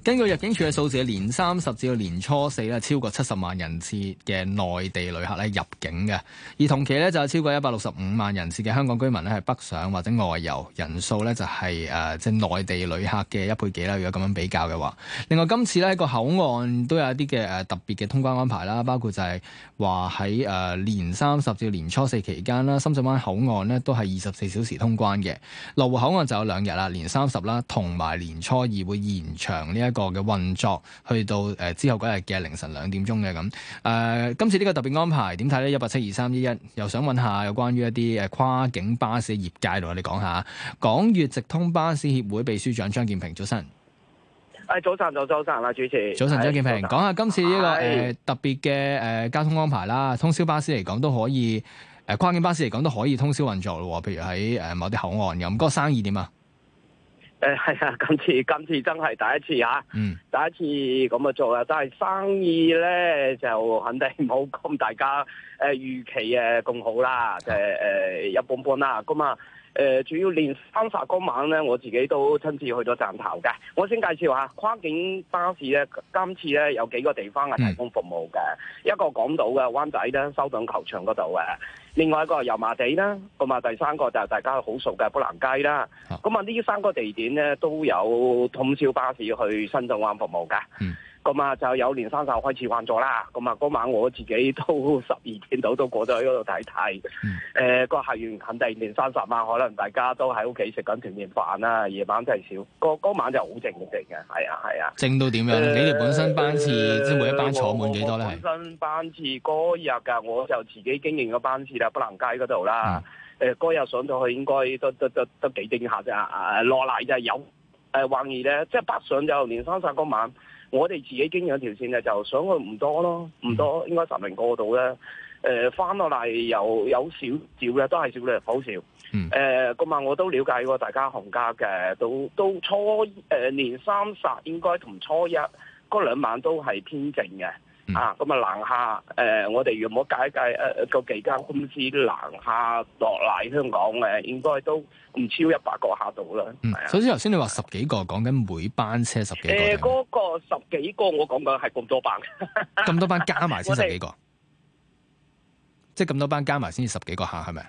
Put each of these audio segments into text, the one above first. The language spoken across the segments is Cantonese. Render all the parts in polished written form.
根據入境處嘅數字，年30至到年初4咧，超過70萬人次嘅內地旅客咧入境嘅，而同期咧就有超過165萬人次嘅香港居民咧係北上或者外遊，人數咧就係即係內地旅客嘅1倍幾啦。如果咁樣比較嘅話，另外今次咧個口岸都有一啲嘅特別嘅通關安排啦，包括就係話喺年30至年初4期間啦，深圳灣口岸咧都係24小時通關嘅，羅湖口岸就有2日啦，年30啦同埋年初2會延長呢一個嘅運作，去到之後嗰日嘅凌晨2點鐘嘅咁。今次呢個特別安排點睇呢？1872311又想問下有關於一啲跨境巴士業界同我哋講下。港粵直通巴士協會秘書長張劍平，早晨。 早晨啦，主持。 早晨，張劍平，講下今次呢個特別嘅交通安排啦。通宵巴士嚟講都可以，跨境巴士嚟講都可以通宵運作咯。譬如喺某啲口岸咁，嗰個生意點啊？ 係啊，今次真係第一次嚇，第一次咁做啊！但係生意咧就肯定冇咁大家預期咁好啦，一般般啦。咁啊主要年30嗰晚咧，我自己都親自去咗站頭嘅。我先介紹下跨境巴士咧，今次咧有幾個地方係提供服務嘅，一個港島嘅灣仔咧，修頓球場嗰度嘅。另外一個油麻地啦，咁啊第三個就係大家好熟嘅砵蘭街啦。咁啊呢3個地點咧都有通宵巴士去深圳灣服務嘅。咁啊就有年30開始運作啦。咁啊嗰晚我自己都12點到都過咗去嗰度睇睇。個客源肯定年30晚，可能大家都喺屋企食緊團圓飯啦。夜晚真係少，嗰晚就好靜嘅。係啊。 靜到點樣？你哋本身班次即係每一班坐滿幾多咧？ 本身班次嗰日㗎，我就自己經營個班次啦，砵蘭街嗰度啦。嗰日上到去應該都幾驚嚇咋。落嚟就有橫兒咧，即係北上就年30嗰晚。我哋自己經營條線咧，就上去唔多咯，唔多，應該10零個度咧。翻落嚟有少少嘅，都係少量，好少。咁啊，我都了解過大家行家嘅，都初年30應該同初一嗰2晚都係偏靜嘅。咁啊南下我哋如果計個幾間公司南下落嚟香港應該都唔超100個客度啦。 首先頭先你話10幾個，講緊每班車10幾個。 嗰個10幾個我講緊係咁多班。咁多班加埋先10幾個，即係咁多班加埋先至10幾個客，係咪？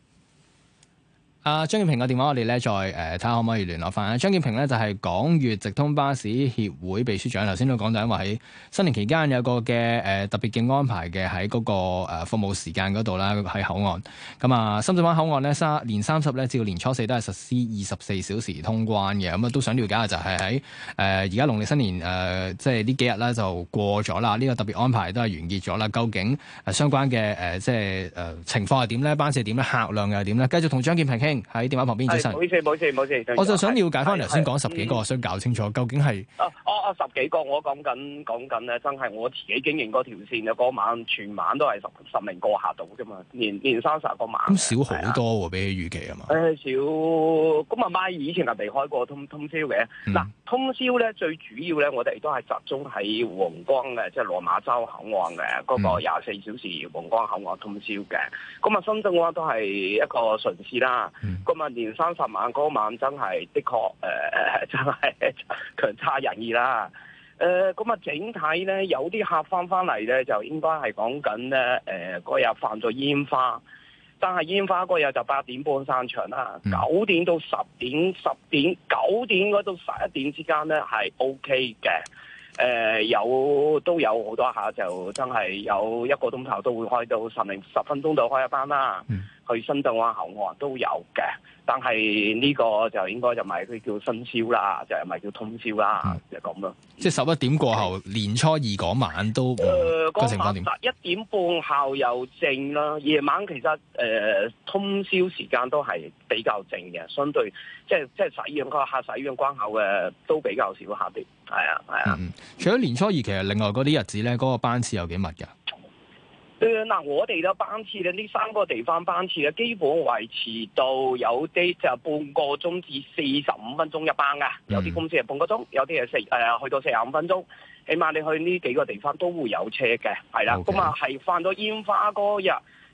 張劍平嘅電話我哋咧再睇下可唔可以聯絡翻。張劍平咧就係港粵直通巴士協會秘書長。頭先都講到，因為喺新年期間有個嘅特別嘅安排嘅喺嗰個服務時間嗰度啦，喺口岸。咁啊，深圳灣口岸咧年30咧至到年初4都係實施24小時通關嘅。咁啊都想了解下就係喺而家農曆新年即係呢幾日咧就過咗啦，呢個特別安排都係完結咗啦。究竟相關嘅即係情況係點咧？班次係點咧？客量又係點咧？繼續同張劍平傾。喺電話旁邊，早晨。 冇事。 我就想了解翻頭先講10幾個，想搞清楚究竟係 10幾個，我講緊咧，真係我自己經營嗰條線嘅嗰晚，全晚都係十零個客到啫嘛，年30個晚。 咁少好多喎，比起預期啊嘛。 少，咁啊咪以前係未開過通宵嘅。嗱，通宵咧最主要咧，我哋都係集中喺皇崗嘅，即係落馬洲口岸嘅嗰個24小時皇崗口岸通宵嘅。咁啊，深圳灣都係一個順市啦。咁啊，年30晚嗰晚真係的確真係強差人意啦。咁啊，整體咧有啲客翻嚟咧，就應該係講緊咧嗰日放咗煙花，但係煙花嗰日就8點半散場啦，9點到10點，9點嗰到11點之間咧係 OK 嘅。都有好多客就真係有1個鐘頭都會開到10分鐘就開一班啦。去深圳灣口岸都有嘅，但係呢個就應該就唔係佢叫新宵啦，就唔係叫通宵啦，就咁咯。 即係11點過後，年初2嗰晚都個情況點 ？1點半後又靜啦，夜晚其實通宵時間都係比較靜嘅，相對即係使用個客使用關口嘅都比較少客啲。係啊。 除咗年初2，其實另外嗰啲日子咧，嗰個班次有幾密㗎？ 我哋嘅班次咧，呢3個地方班次咧，基本維持到有啲就半個鐘至45分鐘一班㗎，有啲公司係半個鐘，有啲係去到45分鐘。起碼你去呢幾個地方都會有車嘅，係啦。咁啊係放咗煙花嗰日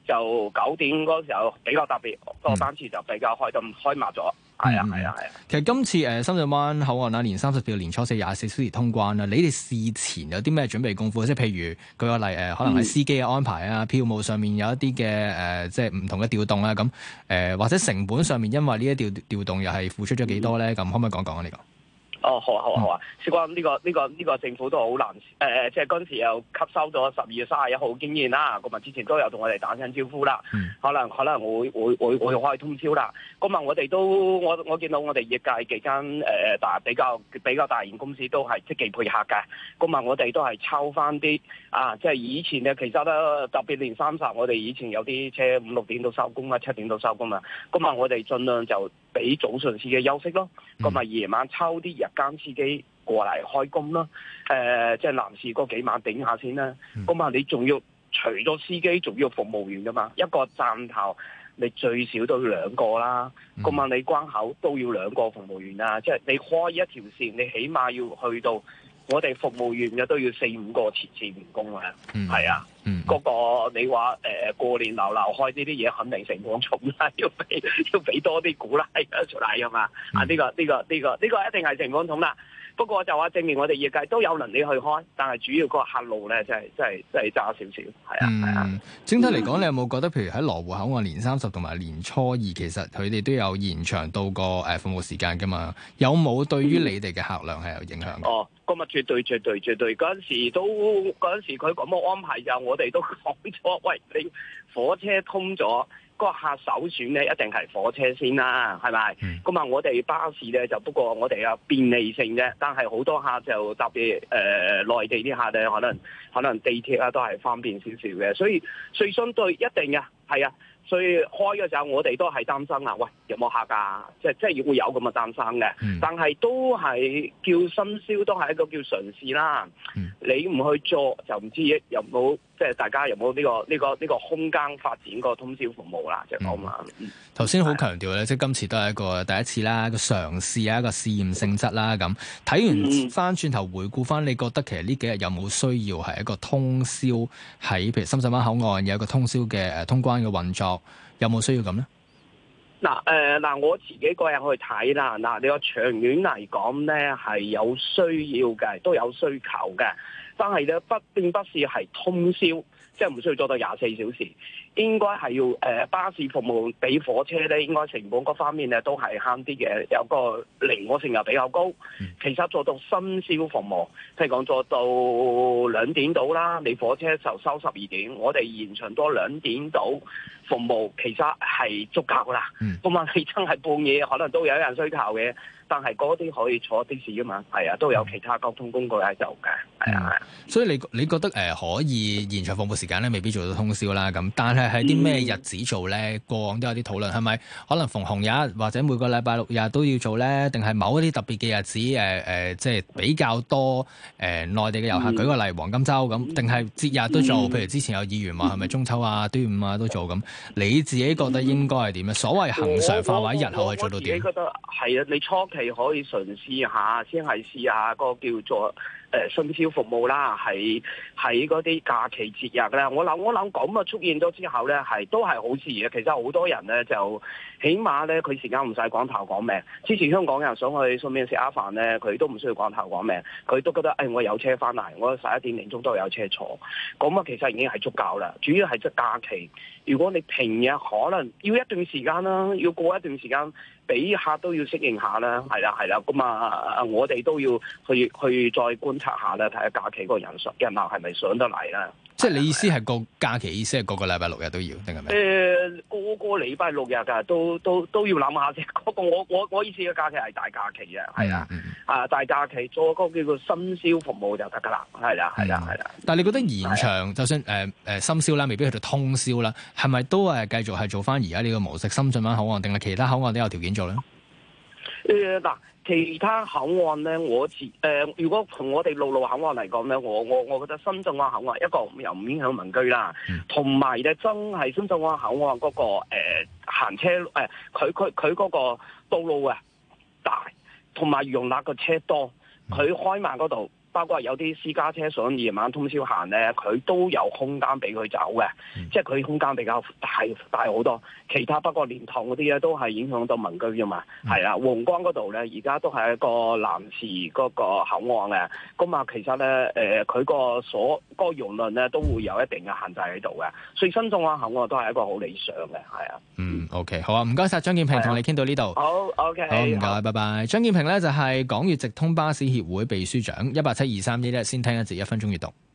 就9點嗰時候比較特別，個班次就比較開密咗。係啊。 其實今次深圳灣口岸啦，年30至到年初4 24小時通關啦，你哋事前有啲咩準備功夫？即係譬如舉個例可能係司機嘅安排啊，票務上面有一啲嘅即係唔同嘅調動啦，咁或者成本上面因為呢一調動又係付出咗幾多咧？咁可唔可以講講啊？呢個？ 好啊！事關呢個政府都好難即係嗰陣時又吸收咗12月31號經驗啦。咁啊，之前都有同我哋打聲招呼啦。可能會開通宵啦。咁啊，我哋都我見到我哋業界幾間比較大型公司都係積極配合嘅。咁啊，我哋都係抽翻啲即係以前咧，其實咧特別年30，我哋以前有啲車5、6點都收工啊，7點都收工啊。咁啊，我哋盡量就俾早上司機休息咯。咁啊，夜晚抽啲日間司機過嚟開工啦。即係男士嗰幾晚頂下先啦。咁啊，你仲要除咗司機，仲要服務員噶嘛？一個站頭你最少都要2個啦。咁啊，你關口都要2個服務員啦。即係你開一條線，你起碼要去到我哋服務員嘅都要4、5個前線員工啊。係啊。嗰個你話過年流開呢啲嘢，肯定成本重啦，要俾多啲鼓勵出嚟啊嘛。呢個一定係成本重啦。不過就話證明我哋業界都有能力去開，但係主要個客路咧，真係差少少。係啊。 整體嚟講，你有冇覺得譬如喺羅湖口岸年30同埋年初2，其實佢哋都有延長到個服務時間㗎嘛？有冇對於你哋嘅客量係有影響？ 咁啊，絕對。嗰陣時佢咁嘅安排就我哋都講咗，喂，你火車通咗，個客首選咧一定係火車先啦，係咪？咁啊，我哋巴士咧就不過我哋有便利性啫，但係好多客就特別內地啲客咧，可能地鐵啊都係方便少少嘅，所以相對一定嘅，係啊。所以開嘅時候，我哋都係擔心啊！喂，有冇客㗎？即係會有咁嘅擔心嘅。但係都係叫深宵，都係一個叫嘗試啦。你唔去做就唔知有冇，即係大家有冇呢個空間發展個通宵服務啦，就講嘛。 頭先好強調咧，即係今次都係一個第一次啦，個嘗試啊，一個試驗性質啦。咁睇完翻轉頭回顧翻，你覺得其實呢幾日有冇需要係一個通宵喺譬如深圳灣口岸有一個通宵嘅通關嘅運作？有冇需要咁咧？ 我自己個人去睇啦。你話長遠嚟講咧，係有需要嘅，都有需求嘅。但係咧，並不是係通宵，即係唔需要做到24小時。應該係要巴士服務比火車咧，應該成本嗰方面咧都係慳啲嘅，有個靈活性又比較高。其實做到深宵服務，譬如講做到2點到啦，你火車就收12點，我哋延長多2點到服務，其實係足夠啦。咁啊，你真係半夜可能都有人需求嘅，但係嗰啲可以坐的士噶嘛，係啊，都有其他交通工具喺度嘅，係啊。 所以你覺得可以延長服務時間咧，未必做到通宵啦。咁但係喺啲咩日子做咧？過往都有啲討論，係咪可能逢紅日或者每個禮拜6日都要做咧？定係某一啲特別嘅日子即係比較多內地嘅遊客？舉個例，黃金週咁，定係節日都做？譬如之前有議員話係咪中秋啊、端午啊都做咁？你自己覺得應該係點咧？所謂恆常化或者日後係做到點？我自己覺得係啊，你初期可以嘗試下，先係試下個叫做深宵服務啦，喺嗰啲假期節日咧，我諗咁啊出現咗之後咧，都係好事嘅。其實好多人咧就起碼咧，佢時間唔使趕頭趕命。之前香港人想去順便食下飯咧，佢都唔需要趕頭趕命，佢都覺得我有車翻嚟，我11點零鐘都有車坐。咁啊，其實已經係足夠啦。主要係即假期，如果你平日可能要一段時間啦，要過一段時間，俾客都要適應下啦，係啦，咁啊，我哋都要去再觀察下啦，睇下假期嗰個人流係咪上得嚟啦。 即係你意思係個假期意思係個個禮拜6日都要，定係咩？ 個個禮拜6日㗎，都要諗下先。嗰個我意思嘅假期係大假期啊，係啊，大假期做嗰個叫做深宵服務就得㗎啦，係啦。 但係你覺得延長，就算深宵啦，未必去到通宵啦，係咪都繼續係做翻而家呢個模式？深圳灣口岸定係其他口岸都有條件做咧？ 其他口岸咧，如果從我哋陸路口岸嚟講咧，我覺得深圳灣口岸一個又唔影響民居啦，同埋咧真係深圳灣口岸嗰個行車佢嗰個道路啊大，同埋容納個車多，佢開慢嗰度包括有啲私家車想夜晚通宵行咧，佢都有空間俾佢走嘅，即係佢空間比較大好多。其他不過蓮塘嗰啲咧都係影響到民居啫嘛，係啦。皇崗嗰度咧而家都係一個臨時嗰個口岸嘅，咁啊其實咧佢個輿論咧都會有一定嘅限制喺度嘅，所以新中環口岸都係一個好理想嘅，係啊。 OK， 好啊，唔該晒張劍平，同你傾到呢度。 好 OK， 好唔該，拜拜。張劍平咧就係港粵直通巴士協會秘書長，1872311先聽一節1分鐘閱讀。